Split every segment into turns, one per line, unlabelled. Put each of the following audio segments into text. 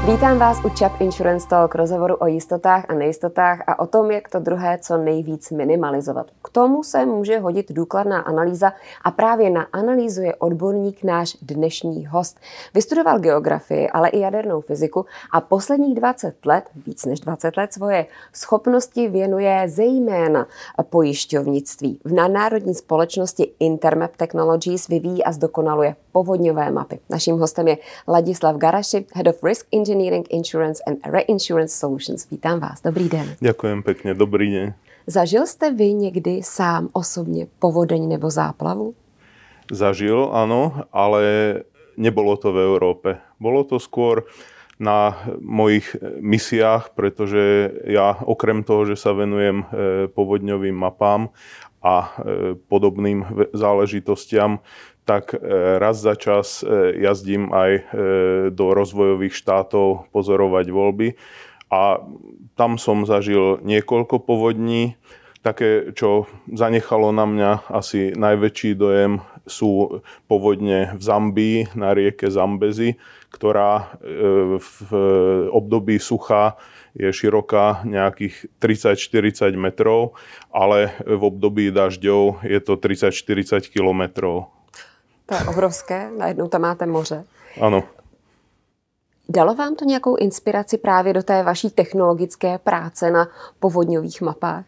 Vítám vás u Chubb Insurance Talk, rozhovoru o jistotách a nejistotách a o tom, jak to druhé co nejvíc minimalizovat. K tomu se může hodit důkladná analýza a právě na analýzu je odborník náš dnešní host. Vystudoval geografii, ale i jadernou fyziku a posledních 20 let, víc než 20 let, svoje schopnosti věnuje zejména pojišťovnictví. V nadnárodní společnosti Intermap Technologies vyvíjí a zdokonaluje povodňové mapy. Naším hostem je Ladislav Garaši, Head of Risk Engineering, Insurance and Reinsurance Solutions. Vítám vás. Dobrý den.
Ďakujem pekne. Dobrý deň.
Zažil jste vy někdy sám osobně povodeň nebo záplavu?
Zažil, áno, ale nebolo to v Európe. Bolo to skôr na mojich misiách, pretože ja okrem toho, že sa venujem povodňovým mapám a podobným záležitostiam, tak raz za čas jazdím aj do rozvojových štátov pozorovať voľby a tam som zažil niekoľko povodní. Také, čo zanechalo na mňa asi najväčší dojem, sú povodne v Zambii na rieke Zambezi, ktorá v období sucha je široká nejakých 30-40 metrov, ale v období dažďov je to 30-40 kilometrov.
To je obrovské, najednou tam máte moře.
Ano.
Dalo vám to nějakou inspiraci právě do té vaší technologické práce na povodňových mapách?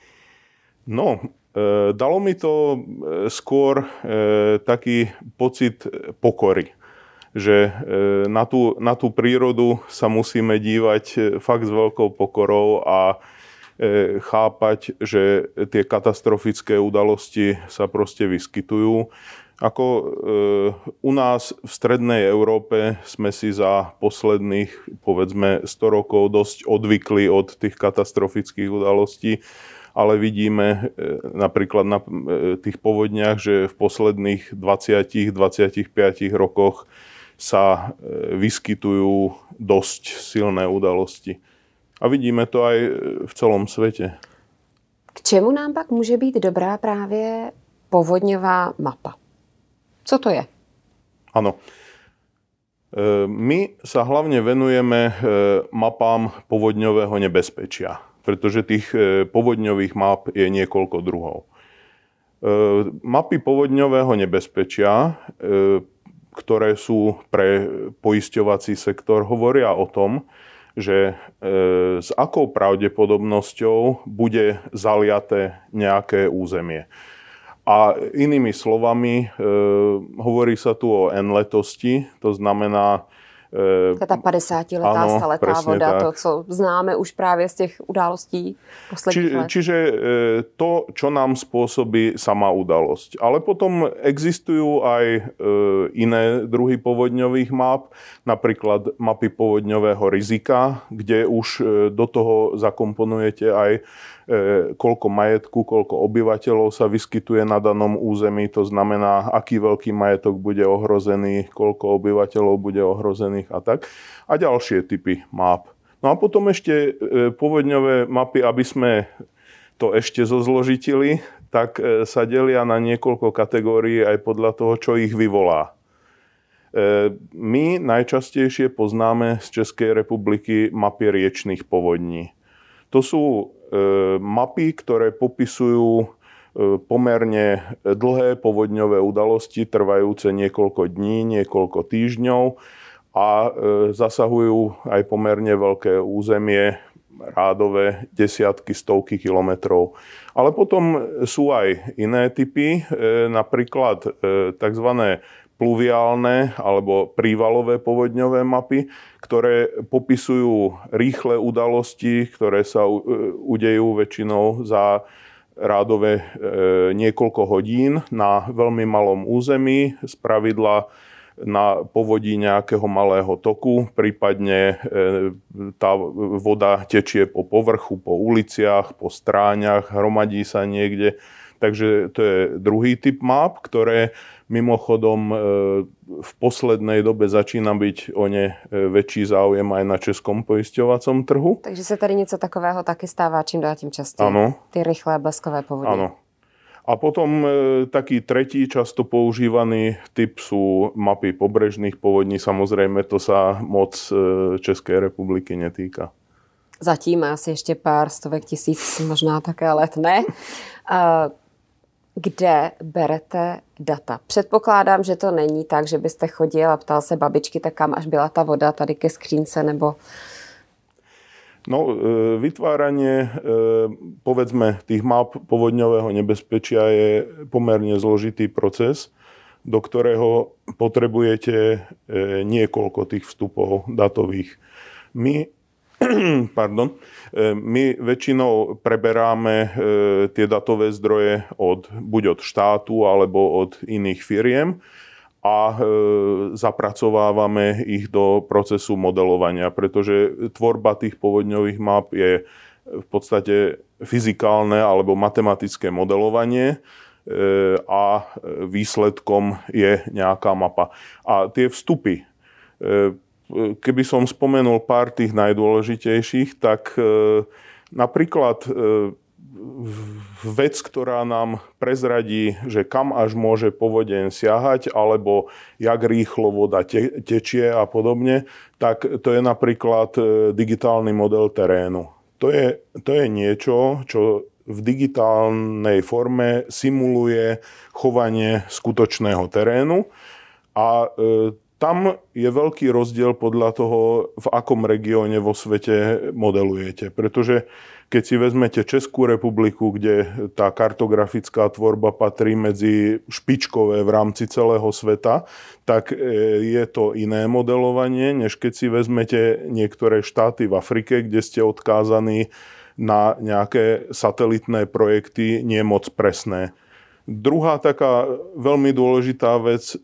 No, dalo mi to skôr taký pocit pokory, že na tú prírodu sa musíme dívať fakt s veľkou pokorou a chápať, že tie katastrofické udalosti sa proste vyskytujú. Ako u nás v strednej Európe sme si za posledných, povedzme, 100 rokov dosť odvykli od tých katastrofických udalostí, ale vidíme napríklad na tých povodniach, že v posledných 20-25 rokoch sa vyskytujú dosť silné udalosti. A vidíme to aj v celom svete.
K čemu nám pak může být dobrá právě povodňová mapa? Co to je?
Áno. My sa hlavne venujeme mapám povodňového nebezpečia, pretože tých povodňových map je niekoľko druhov. Mapy povodňového nebezpečia, ktoré sú pre poisťovací sektor, hovoria o tom, že s akou pravdepodobnosťou bude zaliaté nejaké územie. A inými slovami, hovorí sa tu o N-letosti, to znamená...
Ta 50-letá staletá voda, tak. To, co známe už právě z těch událostí posledních let.
Čiže to, čo nám spôsobí sama udalosť. Ale potom existujú aj iné druhy povodňových map, napríklad mapy povodňového rizika, kde už do toho zakomponujete aj koľko majetku, koľko obyvateľov sa vyskytuje na danom území, to znamená, aký veľký majetok bude ohrozený, koľko obyvateľov bude ohrozených a tak. A ďalšie typy map. No a potom ešte povodňové mapy, aby sme to ešte zozložitili, tak sa delia na niekoľko kategórií aj podľa toho, čo ich vyvolá. My najčastejšie poznáme z Českej republiky mapy riečnych povodní. To sú mapy, ktoré popisujú pomerne dlhé povodňové udalosti, trvajúce niekoľko dní, niekoľko týždňov a zasahujú aj pomerne veľké územie, rádové desiatky, stovky kilometrov. Ale potom sú aj iné typy, napríklad tzv. Pluviálne alebo prívalové povodňové mapy, ktoré popisujú rýchle udalosti, ktoré sa udejú väčšinou za rádové niekoľko hodín na veľmi malom území, spravidla na povodí nejakého malého toku, prípadne tá voda tečie po povrchu, po uliciach, po stráňach, hromadí sa niekde. Takže to je druhý typ map, ktoré mimochodom v poslednej dobe začína byť o ne väčší záujem aj na českom poisťovacom trhu.
Takže se tady něco takového taky stává čím dál tím častěji.
Ano.
Ty rychlé bleskové povodně.
Áno. A potom taký tretí často používaný typ sú mapy pobrežných povodní. Samozrejme, to sa moc Českej republiky netýka.
Zatím asi ještě pár stovek tisíc, možná také let ne. Kde berete data? Předpokládám, že to není tak, že byste chodil a ptal se babičky, tak kam až byla ta voda tady ke skřínce, nebo...
No, vytváranie, povedzme, tých map povodňového nebezpečia je pomerne zložitý proces, do ktorého potrebujete niekoľko tých vstupov datových. My väčšinou preberáme tie datové zdroje buď od štátu alebo od iných firiem a zapracovávame ich do procesu modelovania, pretože tvorba tých povodňových map je v podstate fyzikálne alebo matematické modelovanie a výsledkom je nejaká mapa. A tie vstupy, keby som spomenul pár tých najdôležitejších, tak napríklad vec, ktorá nám prezradí, že kam až môže povodeň siahať, alebo jak rýchlo voda tečie a podobne, tak to je napríklad digitálny model terénu. To je niečo, čo v digitálnej forme simuluje chovanie skutočného terénu a tam je veľký rozdiel podľa toho, v akom regióne vo svete modelujete. Pretože keď si vezmete Českú republiku, kde tá kartografická tvorba patrí medzi špičkové v rámci celého sveta, tak je to iné modelovanie, než keď si vezmete niektoré štáty v Afrike, kde ste odkázaní na nejaké satelitné projekty nie moc presné. Druhá taká veľmi dôležitá vec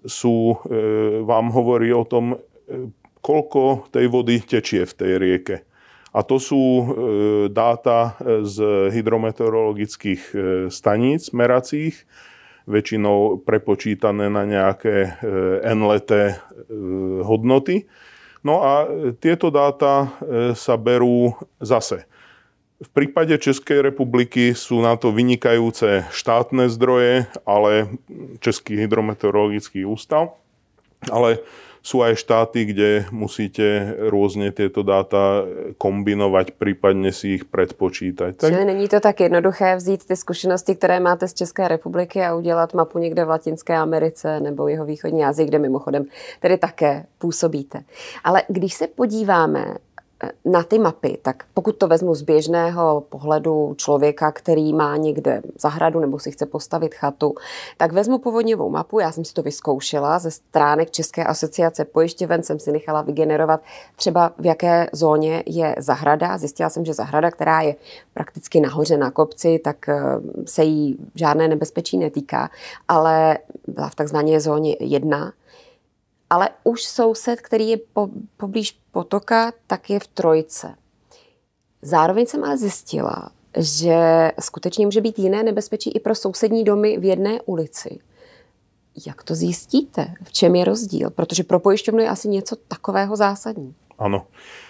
vám hovorí o tom, koľko tej vody tečie v tej rieke. A to sú dáta z hydrometeorologických staníc meracích, väčšinou prepočítané na nejaké n-leté hodnoty. No a tieto dáta sa berú zase. V prípade Českej republiky sú na to vynikajúce štátne zdroje, ale Český hydrometeorologický ústav, ale sú aj štáty, kde musíte rôzne tieto dáta kombinovať, prípadne si ich predpočítať.
Čili není to tak jednoduché vzít ty zkušenosti, které máte z České republiky a udělat mapu někde v Latinské Americe nebo jihovýchodní Asii, kde mimochodem tedy také působíte. Ale když se podíváme na ty mapy, tak pokud to vezmu z běžného pohledu člověka, který má někde zahradu nebo si chce postavit chatu, tak vezmu povodňovou mapu, já jsem si to vyzkoušela ze stránek České asociace pojišťoven, jsem si nechala vygenerovat třeba v jaké zóně je zahrada. Zjistila jsem, že zahrada, která je prakticky nahoře na kopci, tak se jí žádné nebezpečí netýká, ale byla v takzvané zóně 1. Ale už soused, který je poblíž potoka, tak je v 3. Zároveň jsem ale zjistila, že skutečně může být jiné nebezpečí i pro sousední domy v jedné ulici. Jak to zjistíte? V čem je rozdíl? Protože pro pojišťovnu je asi něco takového zásadní.
Áno.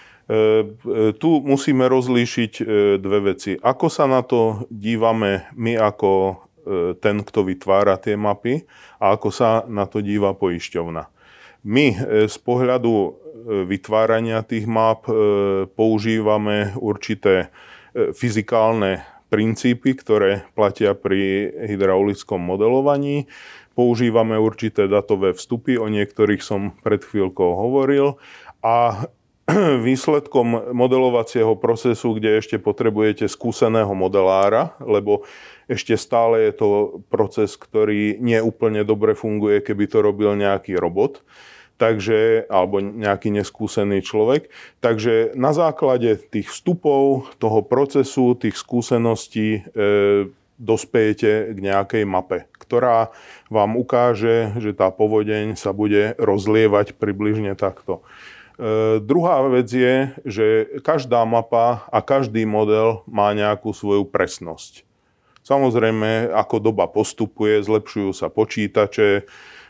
Tu musíme rozlíšiť dve veci. Ako sa na to dívame my ako ten, kto vytvára tie mapy, a ako sa na to díva poisťovna. My z pohľadu vytvárania tých map používame určité fyzikálne princípy, ktoré platia pri hydraulickom modelovaní. Používame určité datové vstupy, o niektorých som pred chvíľkou hovoril. A výsledkom modelovacieho procesu, kde ešte potrebujete skúseného modelára, lebo ešte stále je to proces, ktorý nie úplne dobre funguje, keby to robil nejaký robot, alebo nejaký neskúsený človek. Takže na základe tých vstupov, toho procesu, tých skúseností dospejete k nejakej mape, ktorá vám ukáže, že tá povodeň sa bude rozlievať približne takto. Druhá vec je, že každá mapa a každý model má nejakú svoju presnosť. Samozrejme, ako doba postupuje, zlepšujú sa počítače,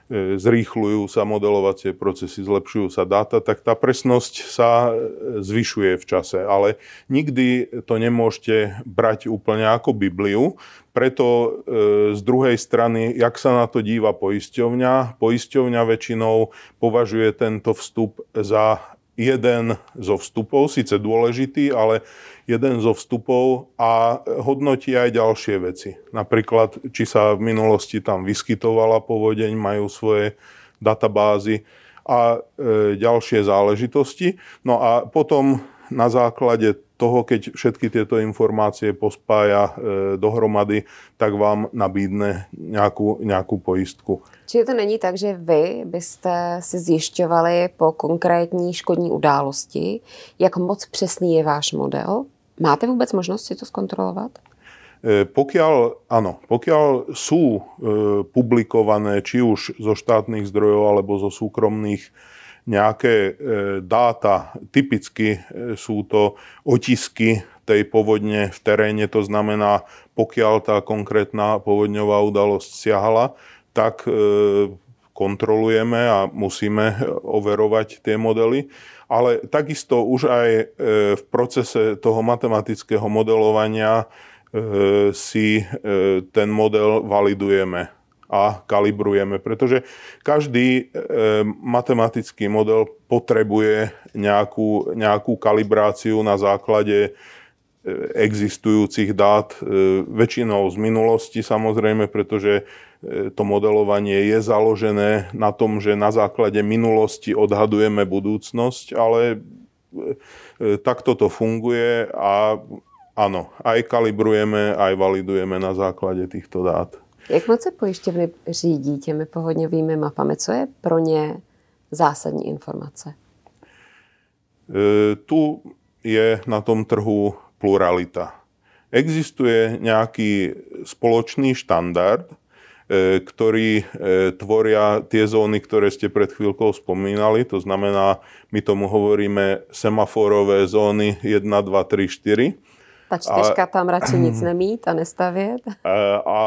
zrýchľujú sa modelovacie procesy, zlepšujú sa dáta, tak tá presnosť sa zvyšuje v čase. Ale nikdy to nemôžete brať úplne ako Bibliu. Preto z druhej strany, jak sa na to díva poisťovňa, poisťovňa väčšinou považuje tento vstup za jeden zo vstupov, síce dôležitý, ale jeden zo vstupov a hodnotí aj ďalšie veci. Napríklad, či sa v minulosti tam vyskytovala povodeň, majú svoje databázy a ďalšie záležitosti. No a potom na základe toho, keď všetky tieto informácie pospája dohromady, tak vám nabídne nejakú pojistku.
Čiže to není tak, že vy byste si zjišťovali po konkrétní škodní události, jak moc přesný je váš model? Máte vůbec možnost si to zkontrolovat?
Pokiaľ sú publikované či už zo štátnych zdrojov alebo zo súkromných nejaké dáta, typicky sú to otisky tej povodne v teréne, to znamená, pokiaľ tá konkrétna povodňová udalosť siahala, tak kontrolujeme a musíme overovať tie modely. Ale takisto už aj v procese toho matematického modelovania si ten model validujeme a kalibrujeme, pretože každý matematický model potrebuje nejakú kalibráciu na základe existujúcich dát, väčšinou z minulosti samozrejme, pretože to modelovanie je založené na tom, že na základe minulosti odhadujeme budúcnosť, ale takto to funguje a áno, aj kalibrujeme, aj validujeme na základe týchto dát.
Jak moc se pojišťovny řídí těmi povodňovými mapami? Co je pro ně zásadní informace?
Tu je na tom trhu pluralita. Existuje nejaký spoločný štandard, ktorý tvoria tie zóny, ktoré ste pred chvíľkou spomínali. To znamená, my tomu hovoríme semaforové zóny 1, 2, 3, 4.
Ta čtyřka tam radši nic nemít a nestavět.
A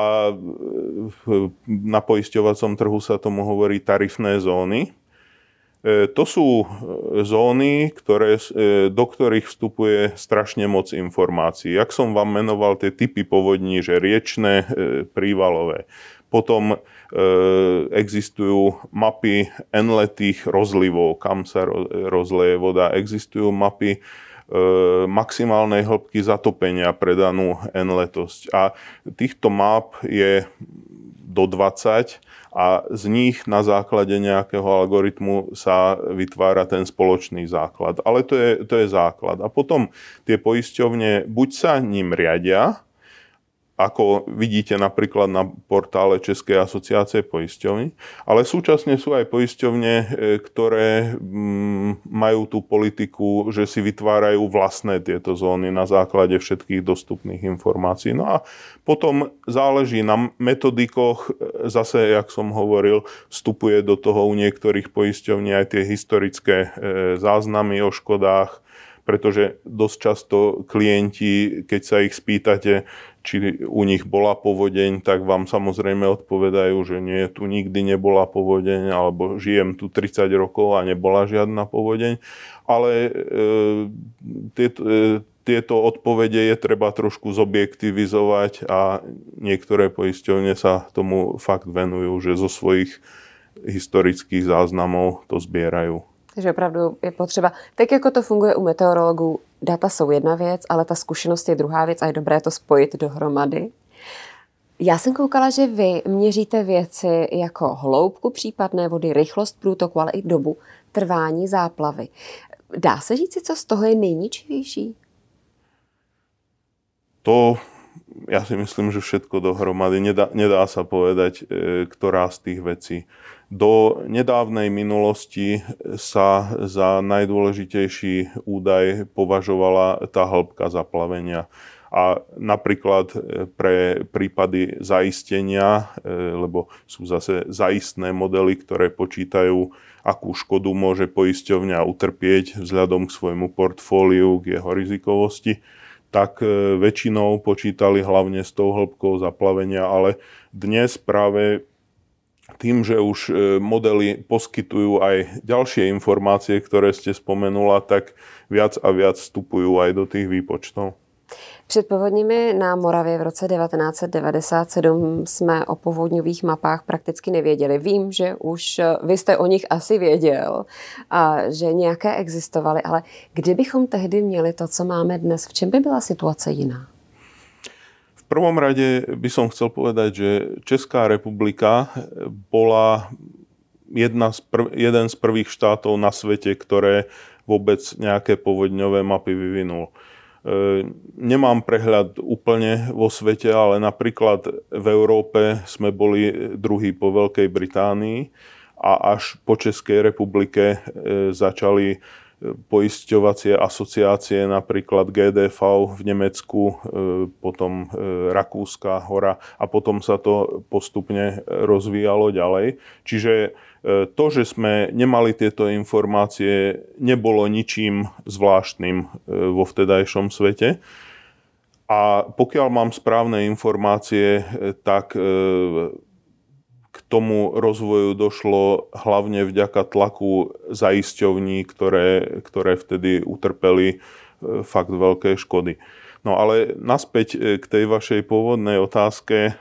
na poisťovacom trhu sa tomu hovorí tarifné zóny. To sú zóny, do ktorých vstupuje strašne moc informácií. Jak som vám menoval tie typy povodní, že riečne, prívalové. Potom existujú mapy enletých rozlivov, kam sa rozleje voda. Existujú mapy maximálnej hĺbky zatopenia pre danú enletosť. A týchto map je do 20 a z nich na základe nejakého algoritmu sa vytvára ten spoločný základ. Ale to je základ. A potom tie poisťovne buď sa ním riadia, ako vidíte napríklad na portále Českej asociácie poisťovní, ale súčasne sú aj poisťovne, ktoré majú tú politiku, že si vytvárajú vlastné tieto zóny na základe všetkých dostupných informácií. No a potom záleží na metodikoch, zase, jak som hovoril, vstupuje do toho u niektorých poisťovní aj tie historické záznamy o škodách, pretože dosť často klienti, keď sa ich spýtate, či u nich bola povodeň, tak vám samozrejme odpovedajú, že nie, tu nikdy nebola povodeň, alebo žijem tu 30 rokov a nebola žiadna povodeň. Ale tieto odpovede je treba trošku zobjektivizovať a niektoré poisťovne sa tomu fakt venujú, že zo svojich historických záznamov to zbierajú.
Takže opravdu je potřeba, tak jako to funguje u meteorologů, data jsou jedna věc, ale ta zkušenost je druhá věc a je dobré to spojit dohromady. Já jsem koukala, že vy měříte věci jako hloubku případné vody, rychlost průtoku, ale i dobu trvání záplavy. Dá se říct, co z toho je nejničivější?
To ja si myslím, že všetko dohromady. Nedá sa povedať, ktorá z tých vecí. Do nedávnej minulosti sa za najdôležitejší údaj považovala tá hĺbka zaplavenia. A napríklad pre prípady zaistenia, lebo sú zase zaistné modely, ktoré počítajú, akú škodu môže poisťovňa utrpieť vzhľadom k svojmu portfóliu, k jeho rizikovosti, tak väčšinou počítali hlavne s tou hĺbkou zaplavenia, ale dnes práve tým, že už modely poskytujú aj ďalšie informácie, ktoré ste spomenula, tak viac a viac vstupujú aj do tých výpočtov.
Před povodněmi na Moravě v roce 1997 jsme o povodňových mapách prakticky nevěděli. Vím, že už vy jste o nich asi věděl a že nějaké existovaly, ale kdybychom tehdy měli to, co máme dnes, v čem by byla situace jiná?
V prvom rade by som chcel povedať, že Česká republika bola jeden z prvých štátov na svete, ktoré vôbec nejaké povodňové mapy vyvinul. Nemám prehľad úplne vo svete, ale napríklad v Európe sme boli druhí po Veľkej Británii a až po Českej republike začali poisťovacie asociácie, napríklad GDV v Nemecku, potom Rakúska hora a potom sa to postupne rozvíjalo ďalej. Čiže to, že sme nemali tieto informácie, nebolo ničím zvláštnym vo vtedajšom svete. A pokiaľ mám správne informácie, tak k tomu rozvoju došlo hlavne vďaka tlaku zaisťovní, ktoré vtedy utrpeli fakt veľké škody. No ale naspäť k tej vašej pôvodnej otázke.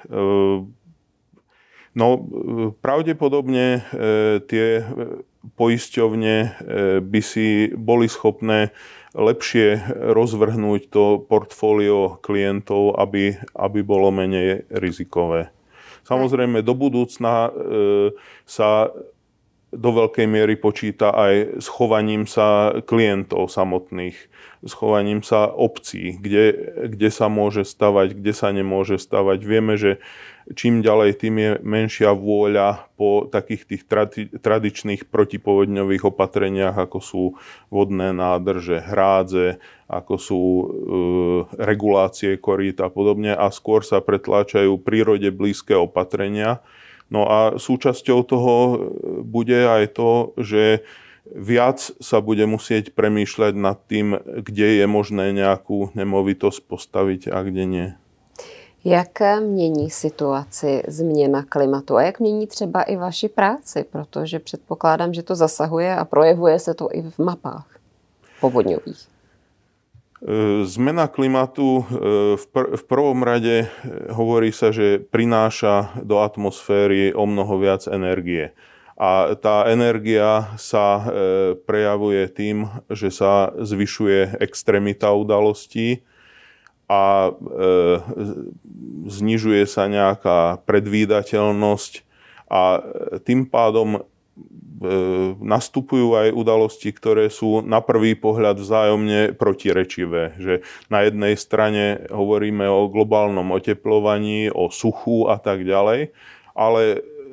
No, pravdepodobne tie poisťovne by si boli schopné lepšie rozvrhnúť to portfólio klientov, aby bolo menej rizikové. Samozrejme, do budúcna sa do veľkej miery počíta aj s chovaním sa klientov samotných, s chovaním sa obcí, kde sa môže stavať, kde sa nemôže stavať. Vieme, že čím ďalej, tým je menšia vôľa po takých tých tradičných protipovodňových opatreniach, ako sú vodné nádrže, hrádze, ako sú regulácie korít a podobne, a skôr sa pretláčajú prírode blízke opatrenia. No a súčasťou toho bude aj to, že viac sa bude musieť premýšľať nad tým, kde je možné nejakú nemovitosť postaviť a kde nie.
Jak mění situaci změna klimatu a jak mění třeba i vaši práci, protože předpokládám, že to zasahuje a projevuje se to i v mapách povodňových.
Zmena klimatu v prvom rade hovorí sa, že prináša do atmosféry o mnoho viac energie. A tá energia sa prejavuje tým, že sa zvyšuje extrémita udalostí a znižuje sa nejaká predvídateľnosť a tým pádom nastupujú aj udalosti, ktoré sú na prvý pohľad vzájomne protirečivé. Že na jednej strane hovoríme o globálnom oteplovaní, o suchu a tak ďalej, ale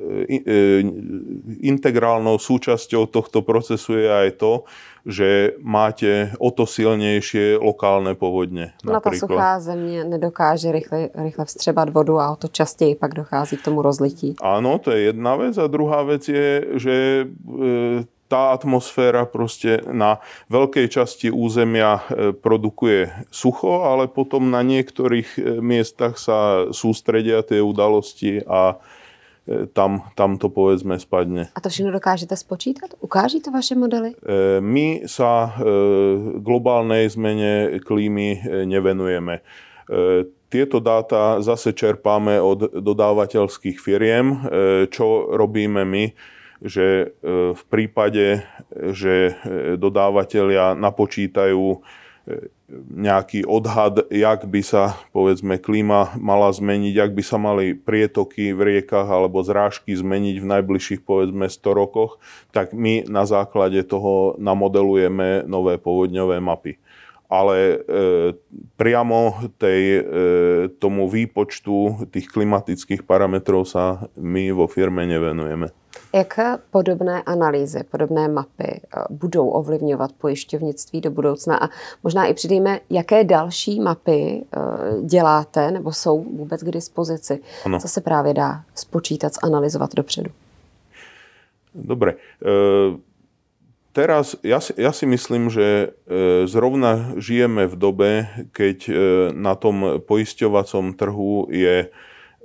integrálnou súčasťou tohto procesu je aj to, že máte o to silnejšie lokálne povodne.
Na ta suchá země nedokáže rychle vstřebat vodu a o to častěji pak dochází k tomu rozlití.
Áno, to je jedna vec. A druhá vec je, že tá atmosféra proste na veľkej časti územia produkuje sucho, ale potom na niektorých miestach sa sústredia tie udalosti a tam to povedzme spadne.
A to všechno dokážete spočítat? Ukáží to vaše modely?
My sa globálnej zmene klímy nevenujeme. Tieto dáta zase čerpáme od dodávateľských firiem. Čo robíme my? Že v prípade, že dodávateľia napočítajú nejaký odhad, jak by sa, povedzme, klíma mala zmeniť, jak by sa mali prietoky v riekach alebo zrážky zmeniť v najbližších, povedzme, 100 rokoch, tak my na základe toho namodelujeme nové povodňové mapy. Ale priamo tomu výpočtu tých klimatických parametrov sa my vo firme nevenujeme.
Jak podobné analýzy, podobné mapy budou ovlivňovat pojišťovnictví do budoucna? A možná i přidejme, jaké další mapy děláte nebo jsou vůbec k dispozici? Ano. Co se právě dá spočítat, zanalyzovat dopředu?
Dobre. Teraz ja si myslím, že zrovna žijeme v dobe, keď na tom poisťovacom trhu je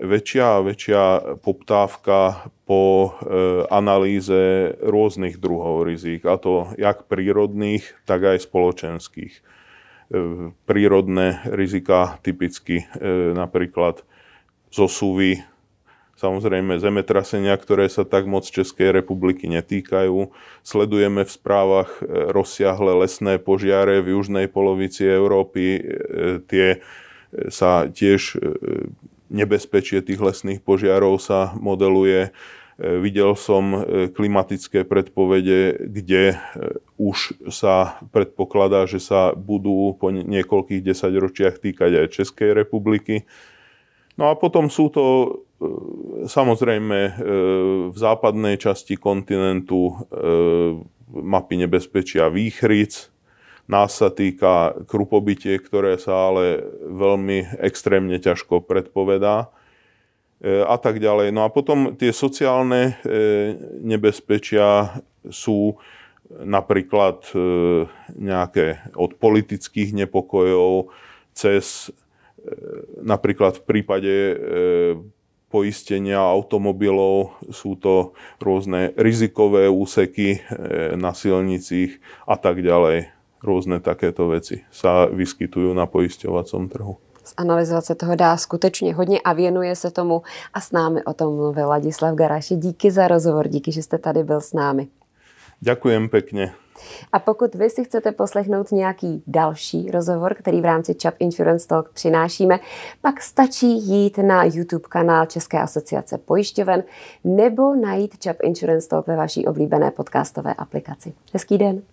väčšia a väčšia poptávka po analýze rôznych druhov rizík, a to jak prírodných, tak aj spoločenských. Prírodné rizika typicky napríklad zosuvy, samozrejme zemetrasenia, ktoré sa tak moc Českej republiky netýkajú. Sledujeme v správach rozsiahle lesné požiare v južnej polovici Európy. Tie sa tiež, nebezpečie tých lesných požiarov sa modeluje. Videl som klimatické predpovede, kde už sa predpokladá, že sa budú po niekoľkých desaťročiach týkať aj Českej republiky. No a potom sú to samozrejme v západnej časti kontinentu mapy nebezpečia výchric. Nás sa týka krupobytie, ktoré sa ale veľmi extrémne ťažko predpovedá a tak ďalej. No a potom tie sociálne nebezpečia sú napríklad nejaké od politických nepokojov cez napríklad v prípade poistenia automobilov sú to rôzne rizikové úseky na silnicích a tak ďalej. Rôzne takéto veci sa vyskytujú na poisťovacom trhu.
Zanalyzovat se toho dá skutečně hodně a věnuje se tomu a s námi o tom mluvil Ladislav Garaši. Díky za rozhovor, díky, že jste tady byl s námi.
Ďakujem pekne.
A pokud vy si chcete poslechnout nějaký další rozhovor, který v rámci ČAP Insurance Talk přinášíme, pak stačí jít na YouTube kanál České asociace pojišťoven nebo najít ČAP Insurance Talk ve vaší oblíbené podcastové aplikaci. Hezký den.